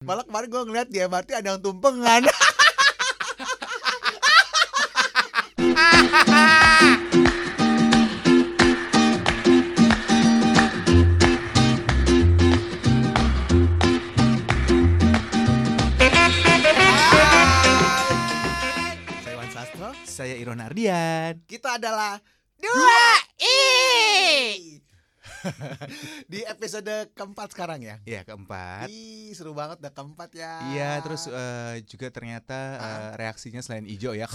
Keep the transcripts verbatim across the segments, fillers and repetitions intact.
Malah kemarin gue ngeliat di M R T ada yang tumpengan. Saya Wan Sastro. Saya Iron Ardian. Kita adalah Dua I. di episode keempat sekarang ya. Ya, keempat. Ih, seru banget udah keempat ya. Iya, terus uh, juga ternyata uh, reaksinya selain hijau ya.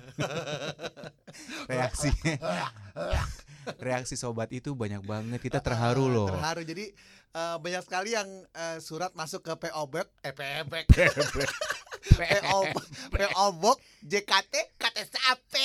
Reaksinya reaksi sobat itu banyak banget. Kita terharu loh. Terharu. Jadi uh, banyak sekali yang uh, surat masuk ke P O Box, eh P O Box. P O P O Box J K T K T S A P.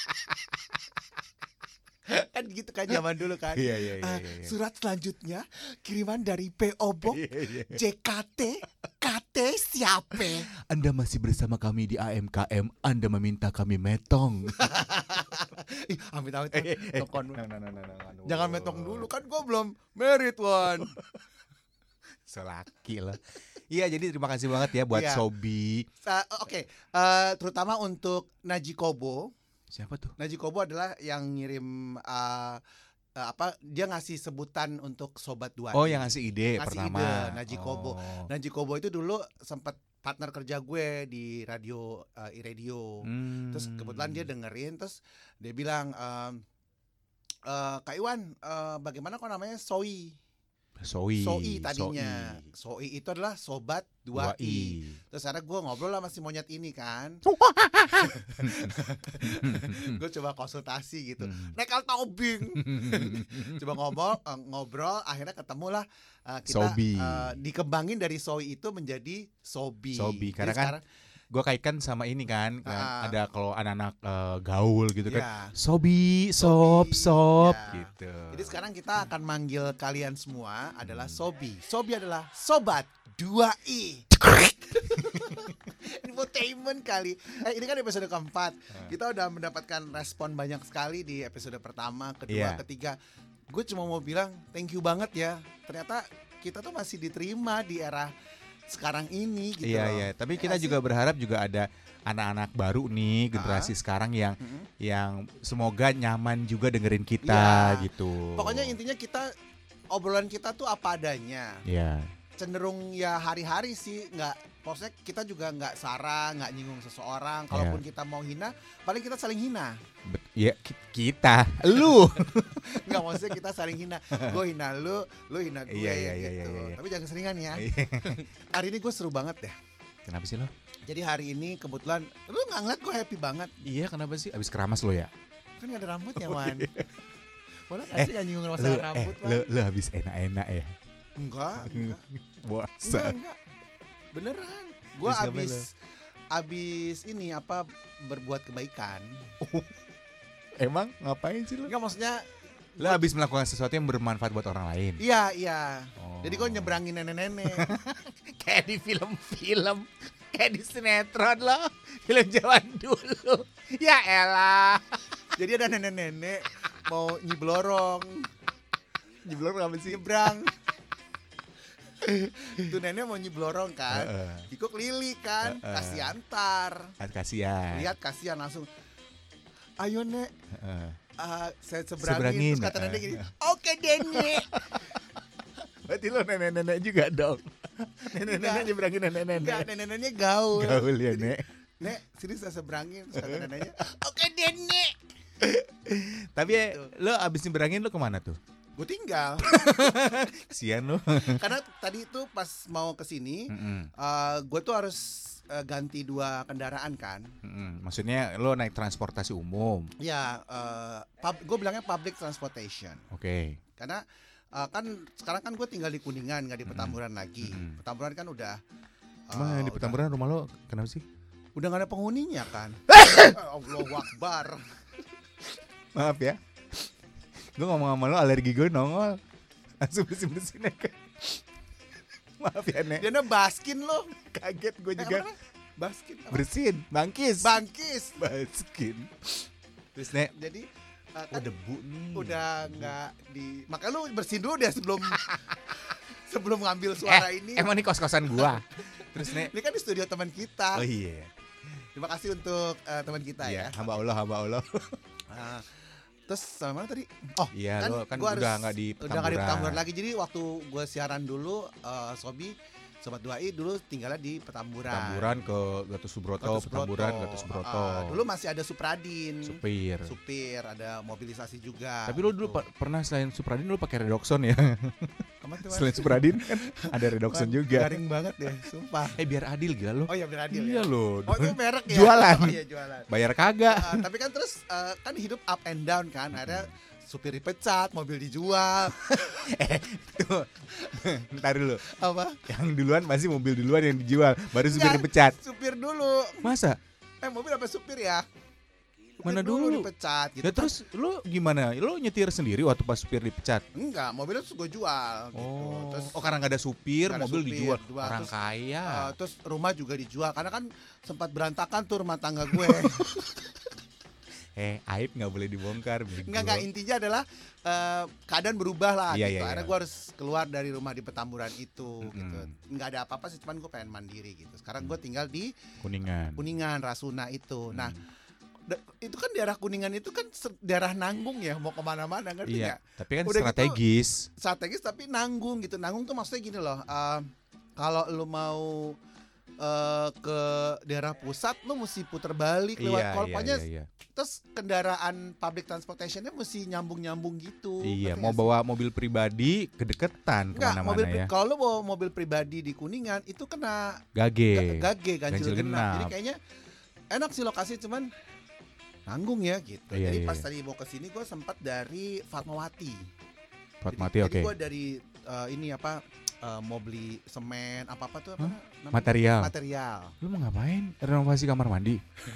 Kan gitu kan zaman dulu kan. Iya, iya, iya, Uh, iya, iya. Surat selanjutnya kiriman dari P O Box Iya, iya. J K T K T siapa? Anda masih bersama kami di A M K M. Anda meminta kami metong. Ih, amit-amit. Tokon. Nah, nah, nah, nah, nah, nah. Jangan metong dulu kan gue belum merit, Wan. Selaki lah. Iya, jadi terima kasih banget ya buat Iya. Sobi. Uh, Oke, uh, terutama untuk Naji Kobo. Siapa tuh? Naji Kobo adalah yang ngirim uh, uh, apa? Dia ngasih sebutan untuk sobat dua. Oh, yang ngasih ide Ngasih pertama. ide, Naji Kobo. Oh. Naji Kobo itu dulu sempat partner kerja gue di radio uh, iRadio. Hmm. Terus kebetulan dia dengerin, terus dia bilang, ehm, eh, Kak Iwan, eh, bagaimana kok namanya Soi? Soi. Soi tadinya. Soi itu adalah sobat dua I. Terus ada gue ngobrol lah masih monyet ini kan. Gue coba konsultasi gitu. Hmm. Nekal tobing. Coba ngobrol, eh, ngobrol, akhirnya ketemulah eh, kita Sobi. eh, dikembangin dari Soi itu menjadi Sobi. Sobi, karena Jadi kan sekarang, gue kaitkan sama ini kan, kan Ah. ada kalau anak-anak eh, gaul gitu kan. ya. Sobi, sob, Sobi, sob ya. gitu. Jadi sekarang kita akan manggil kalian semua adalah Sobi. Sobi adalah sobat dua I. Infotainment kali. Eh, ini kan episode keempat. Kita udah mendapatkan respon banyak sekali di episode pertama, kedua, Iya. ketiga. Gue cuma mau bilang thank you banget ya. Ternyata kita tuh masih diterima di era sekarang ini gitu Iya, loh. iya, tapi Ya kita nggak juga sih? berharap juga ada anak-anak baru nih, generasi sekarang yang Mm-mm. yang semoga nyaman juga dengerin kita Iya. gitu. Pokoknya intinya kita obrolan kita tuh apa adanya. Iya. Cenderung ya hari-hari sih, nggak, maksudnya kita juga nggak sarah, nggak nyinggung seseorang. Kalaupun kita mau hina, paling kita saling hina. Bet- ya ki- kita, lu. Nggak, maksudnya kita saling hina. Gue hina lu, lu hina gue Iya, iya, gitu. iya, iya, iya. Tapi jangan keseringan ya. Hari ini gue seru banget deh. Kenapa sih lo? Jadi hari ini kebetulan, lu nggak ngeliat gue happy banget. Iya, kenapa sih? Abis keramas lo ya? Kan nggak ada rambutnya, Wan. Boleh nggak Eh, sih nggak nyinggung Lu, masalah eh, rambut, Wan? lu, lu habis enak-enak ya? Enggak, enggak. Enggak, Bosan. enggak. Beneran. Gue Terus ngapain abis abis ini apa berbuat kebaikan. Emang ngapain sih lu? Enggak, maksudnya Lu habis melakukan sesuatu yang bermanfaat buat orang lain. iya, iya. Oh. Jadi gue nyebrangin nenek-nenek. Kayak di film-film, kayak di sinetron loh, film zaman dulu. Ya elah. Jadi ada nenek-nenek mau nyiblorong, Nyeblor apa sih? nyebrang. Tuh nenek mau nyiblorong kan. Heeh. Iko keliling kan, Heeh. kasih antar. Kasihan. Lihat kasihan langsung. Ayo nek, Heeh. uh, saya seberangin. Seberangin, Terus kata heeh. nenek gini, oke deh nek. Berarti lo nenek-nenek juga dong. Nenek-nenek Enggak. nyebrangin Enggak, nenek-nenek. nenek-neneknya gaul. Gaul ya, Jadi, Nek. Nek, sini saya seberangin. Terus kata neneknya, oke deh nek. Tapi ya, lo abis nyebrangin lo kemana tuh? Gue tinggal. Kesian lo. Karena tadi itu pas mau kesini, Mm-mm. uh, gue tuh harus uh, ganti dua kendaraan kan. Mm-mm. Maksudnya lo naik transportasi umum. Ya, uh, pub- gue bilangnya public transportation. Oke. Karena uh, kan sekarang kan gue tinggal di Kuningan, nggak di Petamburan lagi. Mm-mm. Petamburan kan udah. Emang uh, di Petamburan rumah lo kenapa sih? Udah, udah nggak ada penghuninya kan. Allahu Akbar. Maaf ya. Gue ngomong sama lo alergi gue nongol. Langsung bersin-bersin ya kan. Maaf ya Nek. Dia baskin lo. Kaget gue Eh, juga. apa? Baskin. apa? Bersin. Bangkis. Bangkis. Baskin. Terus Nek. Jadi uh, Oh kan debu nih. udah nggak di. Makanya lu bersihin dulu deh sebelum sebelum ngambil suara eh, ini. Emang ini kos-kosan gua. Terus Nek. Ini kan di studio teman kita. Oh iya. Terima kasih untuk uh, teman kita Iya, ya. hamba Allah, hamba Allah. Uh, terus sama mana tadi? Oh, Iya, kan lo kan gua udah harus- nggak di udah nggak di Petamburan. Petamburan lagi. Jadi waktu gue siaran dulu, uh, Sobi Sobat dua i dulu tinggalnya di Petamburan. Petamburan ke Gatot Subroto, Gatot Subroto. Petamburan, Gatot Subroto. Uh, dulu masih ada Supradin. Supir. Supir, ada mobilisasi juga. Tapi lo dulu gitu. pa- pernah selain Supradin lo pakai Redoxon ya? Kemana tuh, Mas? Selain Supradin kan ada Redoxon Wah, juga. Garing banget deh, sumpah. Eh biar adil gila lo. Oh iya biar adil Iya ya. lo. Oh itu merek ya. Jualan. Oh iya jualan. Bayar kagak. Uh, tapi kan terus uh, kan hidup up and down kan. Akhirnya supir dipecat, mobil dijual. eh, tuh. Ntar dulu. Apa? Yang duluan pasti mobil duluan yang dijual, baru supir Enggak, dipecat. Supir dulu. Masa? Eh mobil apa supir ya? Supir Mana dulu? dipecat gitu. Ya terus lu gimana? Lu nyetir sendiri waktu pas supir dipecat? Enggak, mobilnya terus gue jual gitu. Oh, Terus oh karena nggak ada supir, nggak ada mobil supir, dijual. jual. Orang Terus, kaya. uh, terus rumah juga dijual karena kan sempat berantakan tuh rumah tangga gue. Eh, aib nggak boleh dibongkar. bego. Enggak enggak intinya adalah uh, keadaan berubah lah Iya, gitu. iya, Akhirnya iya. gue harus keluar dari rumah di Petamburan itu Mm-mm. gitu. Enggak ada apa-apa sih, cuman gue pengen mandiri gitu. Sekarang gue tinggal di Kuningan. Kuningan, Rasuna itu. Nah, Hmm. da- itu kan daerah Kuningan itu kan ser- daerah nanggung ya, mau kemana-mana kan Iya, tapi kan Udah gitu- strategis. strategis tapi nanggung gitu. Nanggung tuh maksudnya gini loh. uh, kalau lu mau uh, ke daerah pusat, lu mesti puter balik lewat Iya, tol. iya, Pokoknya iya, iya. terus kendaraan public transportationnya mesti nyambung-nyambung gitu. Iya, Ngerti mau nggak sih? bawa mobil pribadi kedeketan Enggak, mobil kemana-mana pri- ya. kalau lu bawa mobil pribadi di Kuningan itu kena Gage. ga- gage Ganjil ganjil genap. genap. Jadi kayaknya enak sih lokasi cuman nanggung ya gitu. Iya, Jadi iya, pas iya. tadi mau ke sini gue sempat dari Fatmawati. Fatmawati, Jadi- oke. Jadi gue dari uh, ini apa uh, mau beli semen apa-apa tuh apa Hah? namanya? Material. Material. Lu mau ngapain? Renovasi kamar mandi?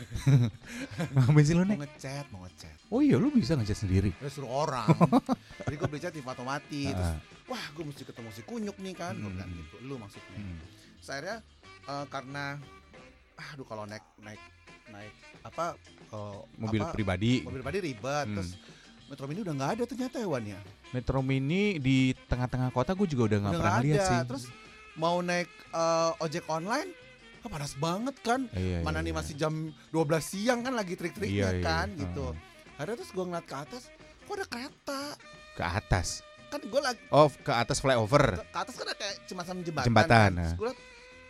Ngapain sih lu, Mau Nek? ngecat, mau ngecat. Oh iya, lu bisa ngecat sendiri. Ya suruh orang. Jadi gue beli cat di Fatmawati. Terus Ah. wah gue mesti ketemu si Kunyuk nih kan. Gue Hmm. bilang gitu. Lu maksudnya. Hmm. Terus akhirnya uh, karena aduh kalau naik naik naik apa uh, Mobil apa, pribadi. mobil pribadi ribet. Hmm. Terus Metro Mini udah nggak ada ternyata hewannya. Metro Mini di tengah-tengah kota gue juga udah nggak Udah pernah nggak lihat ada. sih. Terus mau naik uh, ojek online, ah, panas banget kan. Iya, Mana iya, nih iya. masih jam dua belas siang kan lagi trik-triknya Iya, iya, kan iya. gitu. Heeh. Akhirnya terus gue ngeliat ke atas, kok ada kereta. Ke atas. Kan gue lagi Oh, ke atas flyover. ke, ke atas kan ada kayak jembatan jembatan. Jembatan, kan. Terus nah. gue liat,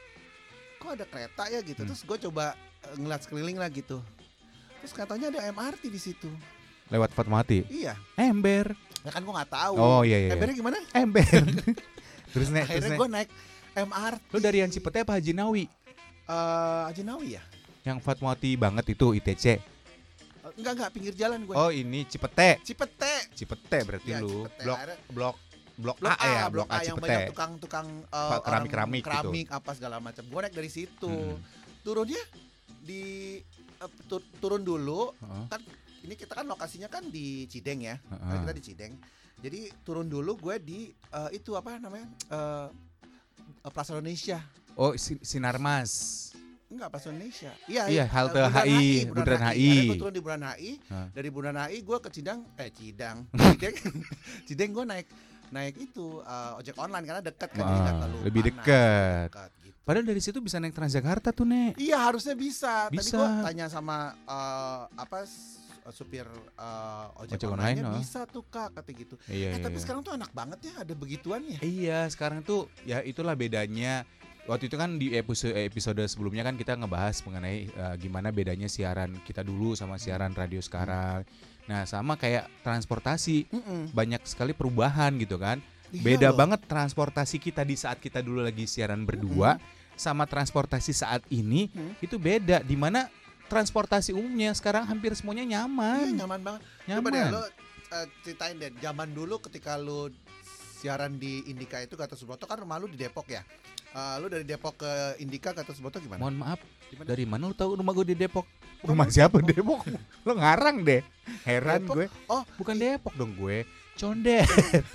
kok ada kereta ya gitu. Hmm. Terus gue coba uh, ngeliat sekeliling lah gitu. Terus katanya ada M R T di situ. Lewat Fatmawati. Iya. Ember. Ya kan gue nggak tahu. Oh iya iya. Embernya gimana? Ember. terus Nek, terus Akhirnya Nek. gue naik M R T. Lu dari yang Cipete apa Haji Nawi? Eh, Haji Nawi ya? Yang Fatmawati banget itu I T C. Eh, Enggak enggak pinggir jalan gue. Oh, ini Cipete. Cipete. Cipete berarti Iya, lu. Cipete. Blok Akhirnya- blok blok, Blok A, ya, blok A yang Cipete. banyak tukang-tukang eh, Pak, orang keramik-keramik gitu. keramik apa segala macam. Gue naik dari situ. Hmm. Turunnya di eh, tu- turun dulu. Heeh. Kan ini kita kan lokasinya kan di Cideng ya. Heeh. Kan kita di Cideng. Jadi turun dulu gue di eh, itu apa namanya? Eh, Plaza Indonesia. Oh, Sin- Sinarmas. Enggak, Plaza Indonesia. Iya, Iya, eh, halte Bundaran H I, Bundaran Bundaran H I. Akhirnya gue turun di Bundaran H I. Hah. Dari Bundaran H I gue ke Cidang, eh Cidang, Cideng, Cideng gue naik naik itu eh, ojek online karena dekat kan, jadi nggak Wah, terlalu lebih panas, dekat. dekat gitu. Padahal dari situ bisa naik Transjakarta tuh, Nek. Iya harusnya bisa. Tadi Bisa. gue tanya sama eh, apa s- supir eh, ojek, Ojek online, online, oh. bisa tuh kak kata gitu. Iya, eh iya, tapi iya. sekarang tuh enak banget ya ada begituan ya. Iya, sekarang tuh ya itulah bedanya. Waktu itu kan di episode episode sebelumnya kan kita ngebahas mengenai eh, gimana bedanya siaran kita dulu sama siaran radio sekarang. Nah, sama kayak transportasi, Mm-mm. banyak sekali perubahan gitu kan. Iya Beda loh. banget transportasi kita di saat kita dulu lagi siaran berdua sama transportasi saat ini Hmm. itu beda. Di mana transportasi umumnya sekarang hampir semuanya Iya nyaman. nyaman banget. Coba Nyaman. deh lo eh, ceritain deh zaman dulu ketika lo siaran di Indika itu Gatot Subroto kan rumah lu di Depok ya. Eh, lu dari Depok ke Indika Gatot Subroto gimana? Mohon maaf, Gimana? dari mana lu tahu rumah gue di Depok? Rumah Rumah siapa Depok? Lo ngarang deh. Heran Depok? gue. Oh, Bukan Depok dong gue. Condet.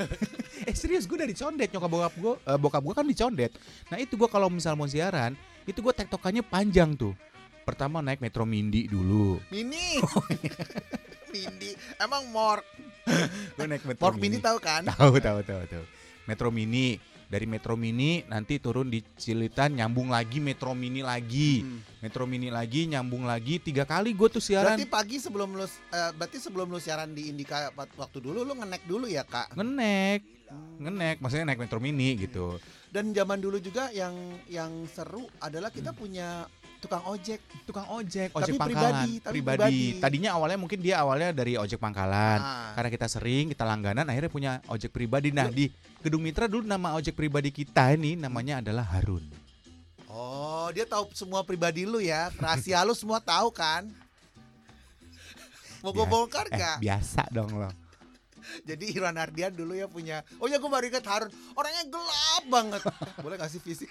eh serius gue dari Condet, nyokap bokap gue, eh, bokap gue kan di Condet. Nah itu gue kalau misal mau siaran, itu gue tektokannya panjang tuh. Pertama naik Metro Mindi dulu. Mini. Mini. Emang Mork. Gue naik Metro Mork Mini tahu kan? Tahu tahu tahu tahu. Metro Mini. Dari Metro Mini nanti turun di Cilitan, nyambung lagi Metro Mini lagi, hmm. Metro Mini lagi, nyambung lagi, tiga kali gue tuh siaran. Berarti pagi sebelum lu, uh, berarti sebelum lu siaran di Indika waktu dulu lu ngenek dulu ya kak? Ngenek, hmm. ngenek, maksudnya naik Metro Mini gitu. Dan zaman dulu juga yang yang seru adalah kita hmm. punya tukang ojek, tukang ojek, tapi ojek pangkalan, pribadi, tapi pribadi. pribadi. Tadinya awalnya mungkin dia awalnya dari ojek pangkalan, ah. karena kita sering, kita langganan, akhirnya punya ojek pribadi. Nah di Gedung Mitra dulu nama ojek pribadi kita ini namanya adalah Harun. Oh, dia tahu semua pribadi lu ya, rahasia lu semua tahu kan? Mau gue bongkar gak? Eh, biasa dong lo. Jadi Irwan Ardian dulu ya punya, oh ya gue baru ingat Harun, orangnya gelap banget. Boleh gak sih fisik?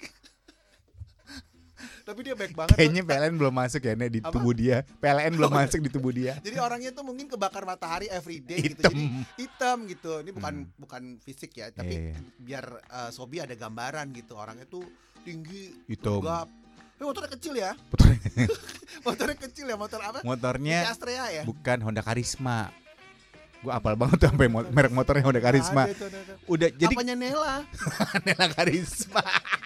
Tapi dia baik banget. Kayaknya P L N belum masuk ya Nek, di Apa? tubuh dia. P L N belum masuk di tubuh dia. Jadi orangnya tuh mungkin kebakar matahari everyday gitu. Hitam. Jadi hitam gitu. Ini bukan Hmm. bukan fisik ya, tapi Iya, iya. biar uh, Sobi ada gambaran gitu. Orangnya tuh tinggi, Hitam. tegap. Eh, motornya kecil ya? Motornya kecil ya, motor apa? Motornya Astrea ya? bukan Honda Karisma. Gue apal banget tuh sampai mo- merek motornya Honda Karisma. Ada itu, ada, ada. Udah jadi Apanya Nela? Nela Karisma.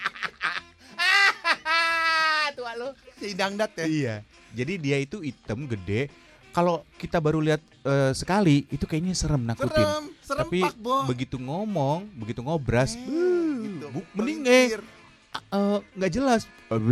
Tua lu. Si Dangdat ya? Iya. Jadi dia itu hitam gede. Kalau kita baru lihat uh, sekali itu kayaknya serem nakutin. Serem, serem Tapi pak, Bo. begitu ngomong, begitu ngobras, Eh, uh, gitu. bu- mending eh Pelintir. uh, nggak jelas.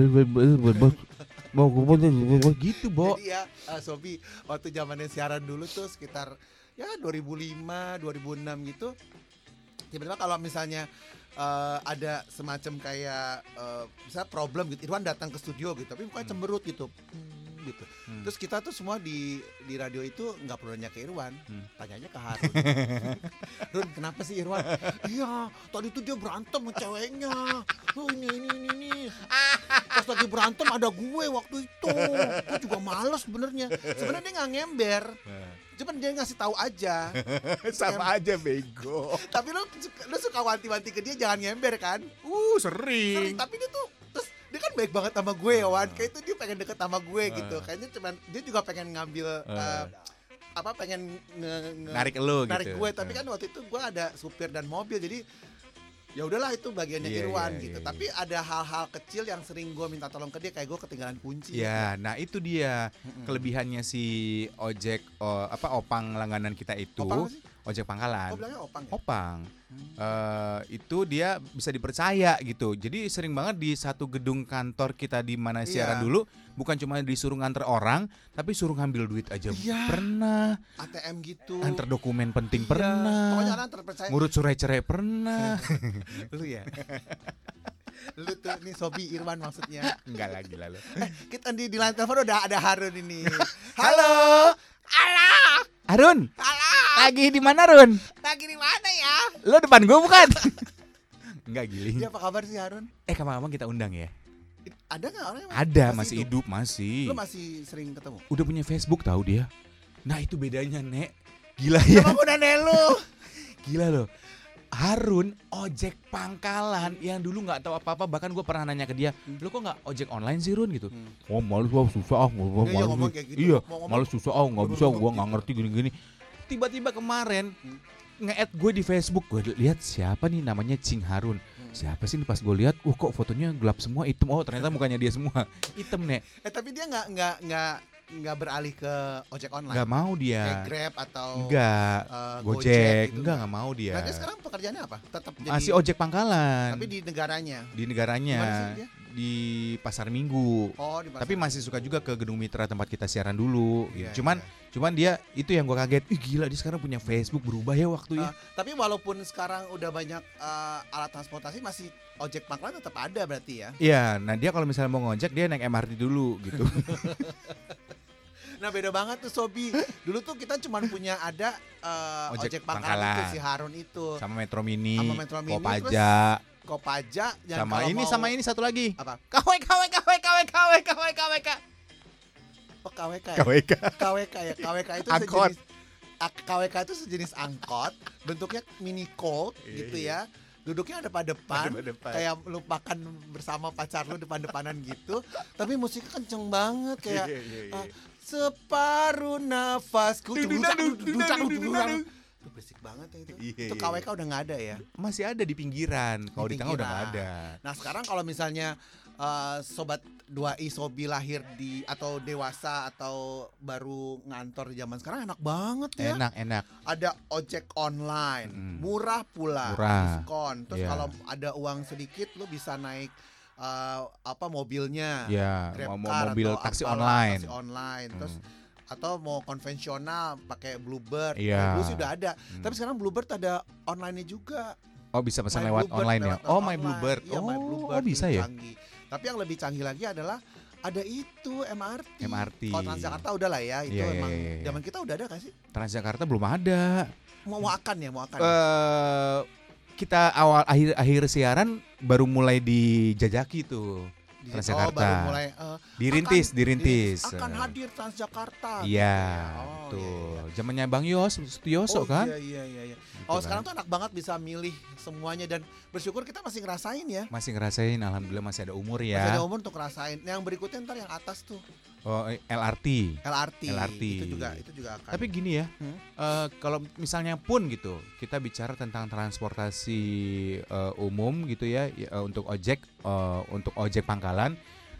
Mau gitu, Bo. Jadi ya uh, Sobi waktu zamannya siaran dulu tuh sekitar ya dua ribu lima, dua ribu enam gitu. Tiba-tiba kalau misalnya uh, ada semacam kayak uh, misalnya problem gitu, Irwan datang ke studio gitu, tapi bukan cemberut gitu. Hmm, gitu. Hmm. Terus kita tuh semua di di radio itu nggak perlu nanya ke Irwan, Hmm. tanyanya ke Harun. Run, kenapa sih Irwan? Iya, tadi tuh dia berantem sama ceweknya. Oh, ini ini ini ini. Pas lagi berantem ada gue waktu itu. Gue juga males sebenarnya. Sebenarnya dia nggak ngember. Cuman dia ngasih tahu aja. Sama aja bego. Tapi lu lu suka wanti-wanti ke dia jangan ngember kan? Uh, Sering, sering. tapi dia tuh terus dia kan baik banget sama gue ya Wan. Kayak itu dia pengen deket sama gue gitu. Kayaknya cuman dia juga pengen ngambil uh, apa pengen nge, nge, Narik lu narik gitu. gue, tapi kan waktu itu gue ada supir dan mobil, jadi ya udahlah itu bagiannya Iya, Irwan iya, gitu. iya. Tapi ada hal-hal kecil yang sering gue minta tolong ke dia, kayak gue ketinggalan kunci. Ya, nah itu dia Mm-mm. kelebihannya si ojek oh, apa opang langganan kita itu, Opang apa sih? ojek pangkalan. Oh bilangnya opang ya? Opang. Hmm. Eh, itu dia bisa dipercaya gitu. Jadi sering banget di satu gedung kantor kita di mana siaran Iya. dulu, bukan cuma disuruh nganter orang, tapi suruh ngambil duit aja. Iya. Pernah. A T M gitu. Antar dokumen penting Iya. pernah. Pokoknya orang terpercaya. Ngurut surat-cerai pernah. Lu ya. Lu tuh nih Sobi Irwan maksudnya. Enggak lagi lalu. Eh, kita di di line telepon udah ada Harun ini. Halo. Halo. Harun, Halo. lagi di mana Run? Lagi di mana ya? Lo depan gue bukan? Enggak giling. Dia apa kabar sih Harun? Eh kapan-kapan kita undang ya? Ada nggak orang yang Ada, masih hidup, masih. Lu masih sering ketemu? Udah punya Facebook tahu dia. Nah itu bedanya Nek. Gila ya. Sama udah lu. Gila loh. Harun ojek pangkalan yang dulu nggak tahu apa-apa, bahkan gue pernah nanya ke dia, lu kok nggak ojek online sih Run gitu? Hmm. Oh malu ah, susah ah, Iya, iya, ngomong kayak gitu. iya, Mau ngomong- malu susah ah, nggak bisa, ngomong gue gitu. nggak ngerti gini-gini. Tiba-tiba kemarin Hmm. nge-add gue di Facebook, gue lihat siapa nih namanya Cing Harun. Hmm. Siapa sih nih, pas gue lihat, wah kok fotonya gelap semua, hitam. Oh ternyata mukanya dia semua hitam Nek. Eh tapi dia nggak nggak nggak nggak beralih ke ojek online. Nggak mau Kayak dia. Grab atau Enggak. eh, Gojek, gitu. enggak nggak mau dia. Nah, dia sekarang pekerjaannya apa? Tetap jadi Masih ojek pangkalan. tapi di negaranya. Di negaranya, Gimana sih dia? di Pasar Minggu. Oh, di pasar. Tapi masih suka juga ke Gedung Mitra tempat kita siaran dulu. Iya, gitu. Cuman, iya. cuman dia itu yang gue kaget. Ih gila, dia sekarang punya Facebook, berubah ya waktunya. Eh, tapi walaupun sekarang udah banyak eh, alat transportasi, masih ojek pangkalan tetap ada berarti ya. Iya, nah dia kalau misalnya mau ngojek dia naik M R T dulu gitu. Nah beda banget tuh Sobi. Dulu tuh kita cuma punya ada eh, Ojek ojek, pangkalan, itu pangkalan. si Harun itu. Sama Metro Mini, Sama Metro Mini, Kopaja, Kopaja dan sama kalau ini mau- sama ini satu lagi. apa? K W K W K W K W K W K W K W K. Oh, K W K. K W K. K W K ya. K W K itu Angkot. sejenis ak- K W K itu sejenis angkot, bentuknya mini colt gitu ya. Duduknya ada pada depan, Depan-depan. kayak lu makan bersama pacar lu depan-depanan gitu. Tapi musiknya kenceng banget kayak Iya, iya, iya. ah, separuh nafasku. Duduk, duduk, duduk, duduk, duduk. Itu berisik banget ya itu. Iya, Itu iya, K W K udah nggak ada ya. Masih ada di pinggiran. Kalau di, tengah udah nggak ada. Nah sekarang kalau misalnya uh, sobat dua i Sobi lahir di atau dewasa atau baru ngantor di zaman sekarang enak banget ya. Enak, enak. Ada ojek online, Mm. murah pula, Murah. diskon. Terus Iya. kalau ada uang sedikit lu bisa naik uh, apa mobilnya, Ya, Grab mau car mobil atau taksi apalah, online. taksi online. Terus Hmm. atau mau konvensional pakai Bluebird. Iya. Dulu sih udah ada. Hmm. Tapi sekarang Bluebird ada online-nya juga. Oh, bisa pesan My lewat Bluebird, online ya. lewat Oh, My online. Bluebird. Iya, My Oh, Bluebird oh, bisa itu ya? canggih. Tapi yang lebih canggih lagi adalah ada itu M R T. M R T. Kalau Transjakarta udah lah ya, itu Iya, iya, emang iya, iya. zaman kita udah ada gak sih? Transjakarta belum ada. Mau mau akan ya, mau akan. Eh kita awal akhir akhir siaran baru mulai dijajaki tuh. Di- Transjakarta. Oh, baru mulai eh, Dirintis, akan- dirintis. akan hadir Transjakarta. Iya, gitu ya. Oh, tuh. iya, iya. Zamannya Bang Yos, Sutioso Oh, kan? Iya iya iya iya. Gitu Oh, kan. sekarang tuh enak banget bisa milih semuanya dan bersyukur kita masih ngerasain ya. Masih ngerasain, alhamdulillah masih ada umur Masih ya. ada umur untuk ngerasain. Yang berikutnya ntar yang atas tuh Oh, L R T. L R T. L R T. Itu juga itu juga akan. Tapi gini ya, Hmm? eh, kalau misalnya pun gitu, kita bicara tentang transportasi eh, umum gitu ya, ya, eh, untuk ojek, eh, untuk ojek pangkalan,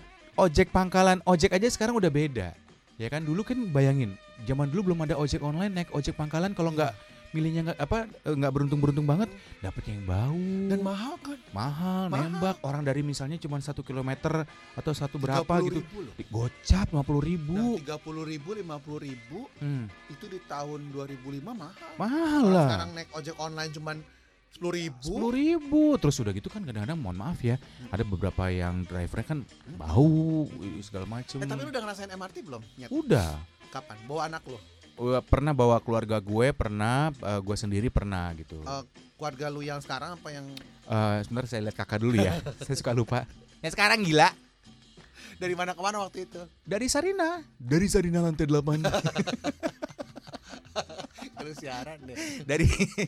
ojek pangkalan, ojek aja sekarang udah beda, ya kan? Dulu kan bayangin, zaman dulu belum ada ojek online, naik ojek pangkalan kalau nggak milihnya nggak apa eh, nggak beruntung-beruntung banget, dapet yang bau, Dan mahal kan? mahal, mahal. nembak orang dari misalnya cuma satu kilometer atau satu berapa tiga puluh gitu, ribu loh. gocap lima puluh Nah, ribu, tiga puluh ribu, lima puluh ribu hmm, itu di tahun dua ribu lima mahal. mahal Kalau lah. sekarang naik ojek online cuman sepuluh ribu. Sepuluh ribu. Terus udah gitu kan kadang-kadang mohon maaf ya, ada beberapa yang drivernya kan bau segala macem. Eh tapi lu udah ngerasain M R T belum? Nyet. Udah. Kapan? Bawa anak lu? Udah pernah bawa keluarga gue, pernah eh, gue sendiri pernah gitu. Eh, keluarga lu yang sekarang apa yang Eh sebentar saya lihat kakak dulu ya. Saya suka lupa. Yang sekarang gila. dari mana ke mana waktu itu? Dari Sarina. Dari Sarina lantai delapan. Lu siaran deh. Dari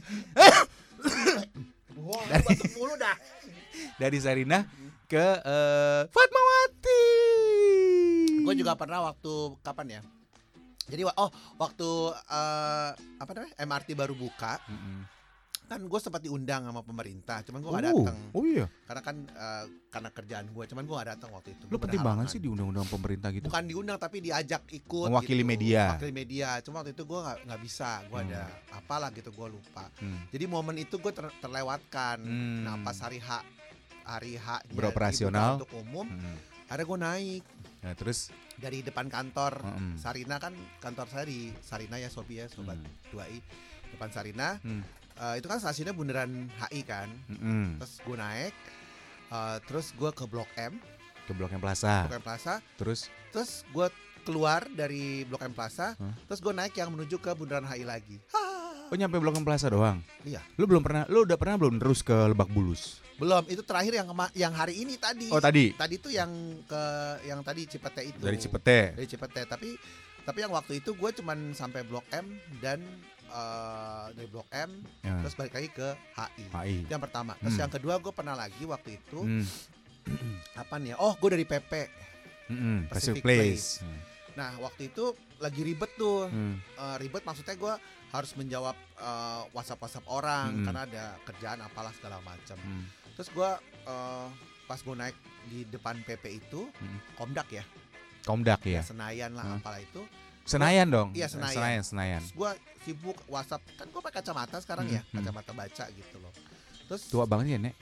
Wah, Dari- batuk mulu dah. dari Sarina ke eh, Fatmawati. Gue juga pernah waktu kapan ya? Jadi wa- oh waktu eh, apa namanya M R T baru buka Mm-mm. kan gue sempat diundang sama pemerintah, cuman gue gak Oh, datang oh iya. karena kan eh, karena kerjaan gue, cuman gue gak datang waktu itu. Lo Gua penting banget berhalangan. sih di undang-undang pemerintah gitu. Bukan diundang tapi diajak ikut. Mewakili gitu. media. Mewakili media. Cuma waktu itu gue nggak nggak bisa, gue Hmm. ada apalah gitu gue lupa. Hmm. Jadi momen itu gue ter- terlewatkan. Hmm. Nah pas hari H hari H Beroperasional. untuk umum, Hmm. ada gue naik Nah, terus dari depan kantor Mm-mm. Sarina, kan kantor saya di Sarina ya Sobi ya sobat Hmm. dua i, depan Sarina. Hmm. Eh, itu kan stasiunnya bundaran H I kan. Mm-mm. Terus gue naik, eh, terus gue ke Blok M, Ke Blok M Plaza. Blok M Plaza. Terus Terus gue keluar dari Blok M Plaza, Hah? terus gue naik yang menuju ke bundaran H I lagi. oh nyampe Blok M Plaza doang. Iya. Lu belum pernah, lu udah pernah belum terus ke Lebak Bulus? Belum, itu terakhir yang kema- yang hari ini tadi. Oh tadi Tadi tuh yang ke yang tadi Cipete itu. dari Cipete. Dari Cipete, tapi tapi yang waktu itu gue cuman sampai Blok M dan eh, dari Blok M Ya. terus balik lagi ke H I. H I. Yang pertama. Terus Hmm. yang kedua gue pernah lagi waktu itu Hmm. apa nih? Oh, gue dari P P. Mm-mm. Pacific Pacific Place. Nah, waktu itu lagi ribet tuh. Hmm. Eh, ribet maksudnya gue harus menjawab eh, WhatsApp-WhatsApp orang Hmm. karena ada kerjaan apalah segala macam. Hmm. Terus gue eh, pas gue naik di depan P P itu, Hmm. Komdak ya, Komdak ya ya. Senayan lah Hmm. apalah itu. Senayan dong. Iya, Senayan. Senayan, Senayan. Terus gue sibuk WhatsApp, kan gue pakai kacamata sekarang Hmm, ya, hmm. kacamata baca gitu loh. Terus Tua banget ya, Nek.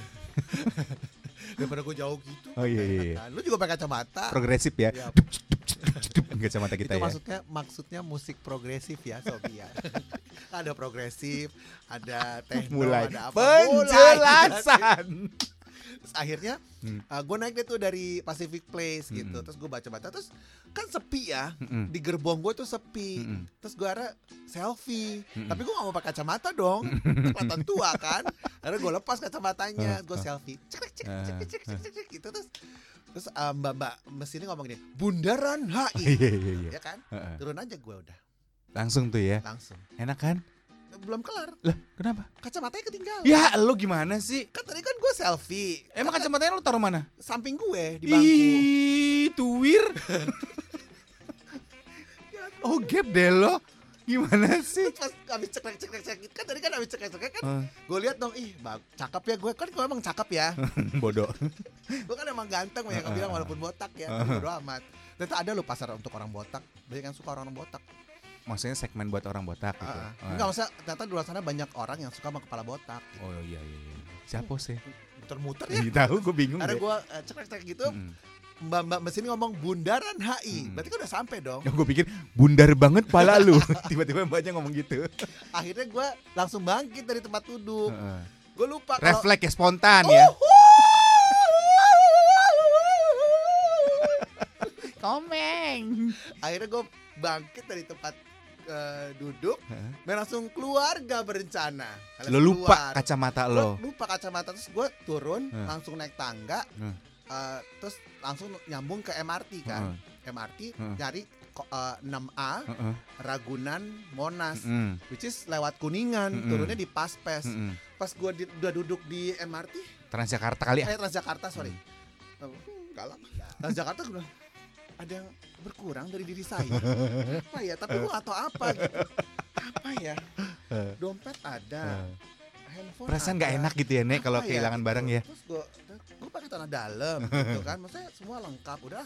daripada gue jauh gitu, Oh, iya, iya, iya. kan. Lu juga pakai kacamata. Progresif ya. Ya, Kacamata kita itu ya. maksudnya maksudnya musik progresif ya Sobi ya. Ada progresif, ada techno, Mulai ada apa. Mulai. penjelasan. Terus akhirnya Hmm. gue naik deh tuh dari Pacific Place gitu. Mm-mm. Terus gue baca-baca, terus kan sepi ya. Mm-mm. Di gerbong gue tuh sepi. Mm-mm. Terus gue ada selfie. Mm-mm. Tapi gue gak mau pakai kacamata dong. Kelihatan tua kan. Akhirnya gue lepas kacamatanya, gue selfie. Cek cek cek cek cek cek cek gitu. Terus terus uh, mbak-mbak mesinnya ngomong gini, Bundaran H I. Iya iya iya. Ya kan? Heeh. Turun aja gue udah. Langsung tuh ya. Langsung. Enak kan? Belum kelar. Lah, kenapa? Kacamatanya ketinggalan. Ya, lu gimana sih? Kan tadi kan gue selfie. Emang Kan kacamatanya lu taruh mana? samping gue di bangku. Ih, tuwir. Oh, gap deh lo. Gimana sih? Pas habis cekrek-cekrek kan tadi kan habis cekrek-cekrek kan Uh, gue lihat dong, ih bag, cakep ya gue kan gue emang cakep ya. bodoh. Gue kan emang ganteng banyak yang bilang walaupun botak ya. Bodo amat. Ternyata ada loh pasar untuk orang botak. Banyak yang suka orang botak. Maksudnya segmen buat orang botak gitu. Uh, Uh. Enggak maksudnya ternyata di luar sana banyak orang yang suka sama kepala botak. Gitu. Oh iya iya iya. Siapa sih? Muter-muter ya. Ya. Tahu gue bingung Ada deh. gue uh, cekrek-cekrek gitu. Mm-mm. Mbak-mbak mesin ngomong Bundaran H I. Mm. Berarti kan udah sampai dong. Ya gue pikir bundar banget pala lu. Tiba-tiba mbaknya ngomong gitu. Akhirnya gue langsung bangkit dari tempat duduk. Uh-uh. Gue lupa kalau Refleks ya spontan ya. Komeng. akhirnya gue bangkit dari tempat uh, duduk, Heeh. dan langsung keluarga berencana. Alias Lo lupa keluar. kacamata Gua lo. lupa kacamata, terus gue turun, Heeh. langsung naik tangga, Heeh. uh, terus langsung nyambung ke M R T kan. M R T Heeh. nyari ko- uh, enam A Heeh. Ragunan Monas, Mm-mm. which is lewat Kuningan, Mm-mm. turunnya di Paspes. Mm-mm. Pas gue di- udah duduk di M R T, Transjakarta kali ya. eh Transjakarta sorry, Hmm, galak. Transjakarta gue bilang, ada yang berkurang dari diri saya. Apa ya? Tapi gue gak tau apa gitu. Apa ya? Dompet ada, handphone Perasaan ada. nggak enak gitu ya Nek kalau Apa kehilangan gitu. barang ya. Terus gue, gue pakai tanah dalam gitu kan. Maksudnya semua lengkap. Udah,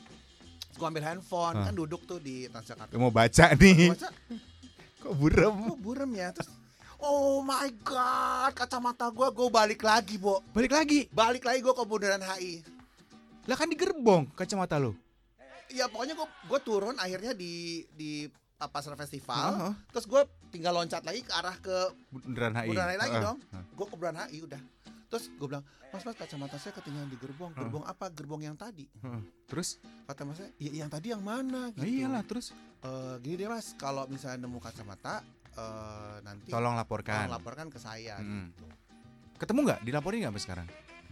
gue ambil handphone, Hah. kan duduk tuh di Transjakarta. Mau baca nih. Baca, Kok burem? kok burem ya? Terus, oh my god, kacamata gue, gue balik lagi, Bo. Balik lagi. Balik lagi gue ke Bundaran H I. Lah kan di gerbong kacamata lo. Ya pokoknya gue gue turun akhirnya di di uh, pasar festival. Heeh. Terus gue tinggal loncat lagi ke arah ke Bundaran H I. Bundaran H I lagi Heeh. dong. Heeh. Gue ke Bundaran H I udah. Terus gue bilang, mas mas kacamata saya ketinggalan di gerbong. Heeh. Gerbong apa? Gerbong yang tadi. Heeh. Terus? Kata masnya, ya yang tadi yang mana? Nah, Gitu. iyalah terus. Eh, gini deh mas, kalau misalnya nemu kacamata, eh, nanti Tolong tolong laporkan. laporkan ke saya. Mm-mm. Gitu. Ketemu nggak? Dilaporin nggak sampai sekarang?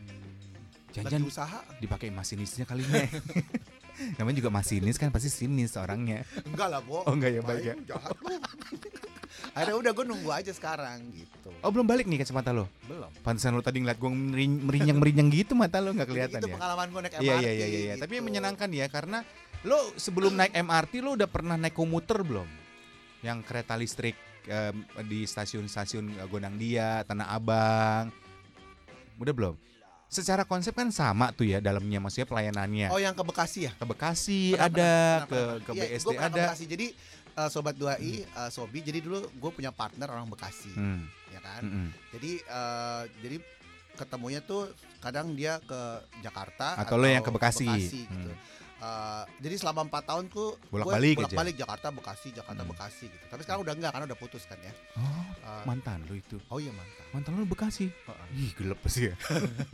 Lagi Jangan usaha? dipakai masinisnya kali Nek. Namanya juga masinis kan pasti sinis orangnya. Enggak lah, Bo. Oh, enggak ya, baik ya. Main, jahat lu. Akhirnya udah gue nunggu aja sekarang gitu. Oh belum balik nih kacamata lo? Belum. Pantesan lo tadi ngeliat gue merinyang-merinyang gitu mata lo nggak kelihatan itu ya? pengalaman gue naik M R T. Iya iya iya iya. Tapi yang gitu. menyenangkan ya karena lo sebelum naik M R T lo udah pernah naik komuter belum? Yang kereta listrik em, di stasiun-stasiun eh, Gondangdia, Tanah Abang. Udah belum? Secara konsep kan sama tuh ya dalamnya maksudnya pelayanannya. Oh yang ke Bekasi ya? Ke Bekasi Pernah, ada, pernah, ke pernah, ke pernah. Iya, B S D gua pernah ke ada. Bekasi. Jadi eh, sobat dua I, eh, Sobi. Jadi dulu gue punya partner orang Bekasi, Hmm, ya kan. mm-mm. Jadi eh, jadi ketemunya tuh kadang dia ke Jakarta Atau lo yang ke Bekasi. gitu. Hmm. Eh, jadi selama empat tahun tuh Bolak-balik gue aja. bolak-balik Jakarta Bekasi Jakarta Hmm. Bekasi gitu. Tapi sekarang udah enggak karena udah putus kan ya. Oh, Eh, mantan lo itu. oh iya mantan. Mantan lo Bekasi. Heeh. Ih, gelap sih ya.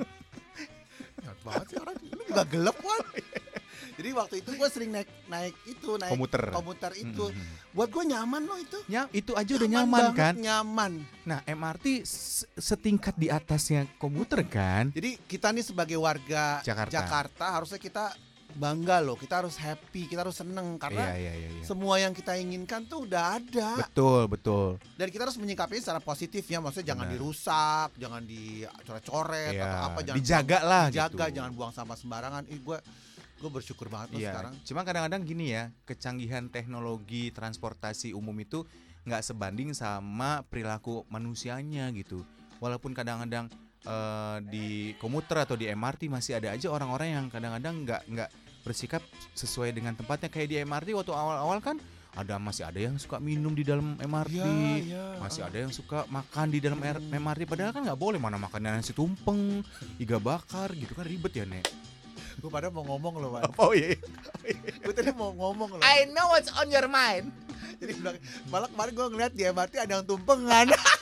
Jahat banget sih orang. Lu juga gelap kan. Jadi waktu itu gue sering naik naik itu naik Komuter. komuter itu. Mm-mm. Buat gue nyaman loh itu. Ya, itu aja udah nyaman banget, kan? Nyaman. Nah, M R T s- setingkat di atasnya komuter kan? Jadi kita nih sebagai warga Jakarta. Jakarta, harusnya kita bangga loh. Kita harus happy, kita harus seneng karena Iya, iya, iya, iya. semua yang kita inginkan tuh udah ada. Betul, betul. Dan kita harus menyikapinya secara positif ya. Maksudnya jangan Benar. dirusak, jangan dicoret-coret Iya, atau apa, jangan dijaga lah dijaga, gitu. jangan buang sampah sembarangan. Ih gue gue bersyukur banget loh Iya. sekarang. Cuma kadang-kadang gini ya, kecanggihan teknologi transportasi umum itu nggak sebanding sama perilaku manusianya gitu. Walaupun kadang-kadang eh, di komuter atau di M R T masih ada aja orang-orang yang kadang-kadang nggak nggak bersikap sesuai dengan tempatnya. Kayak di M R T waktu awal-awal kan ada masih ada yang suka minum di dalam M R T, Iya, iya. masih ada yang suka makan di dalam R- M R T. Padahal kan nggak boleh, mana makan nasi tumpeng, iga bakar gitu kan ribet ya Nek. Gue pada mau ngomong loh, Wan. Oh iya. Gue tadi mau ngomong loh. know what's on your mind. Jadi bilang, malah kemarin gue ngeliat di M R T ada yang tumpengan.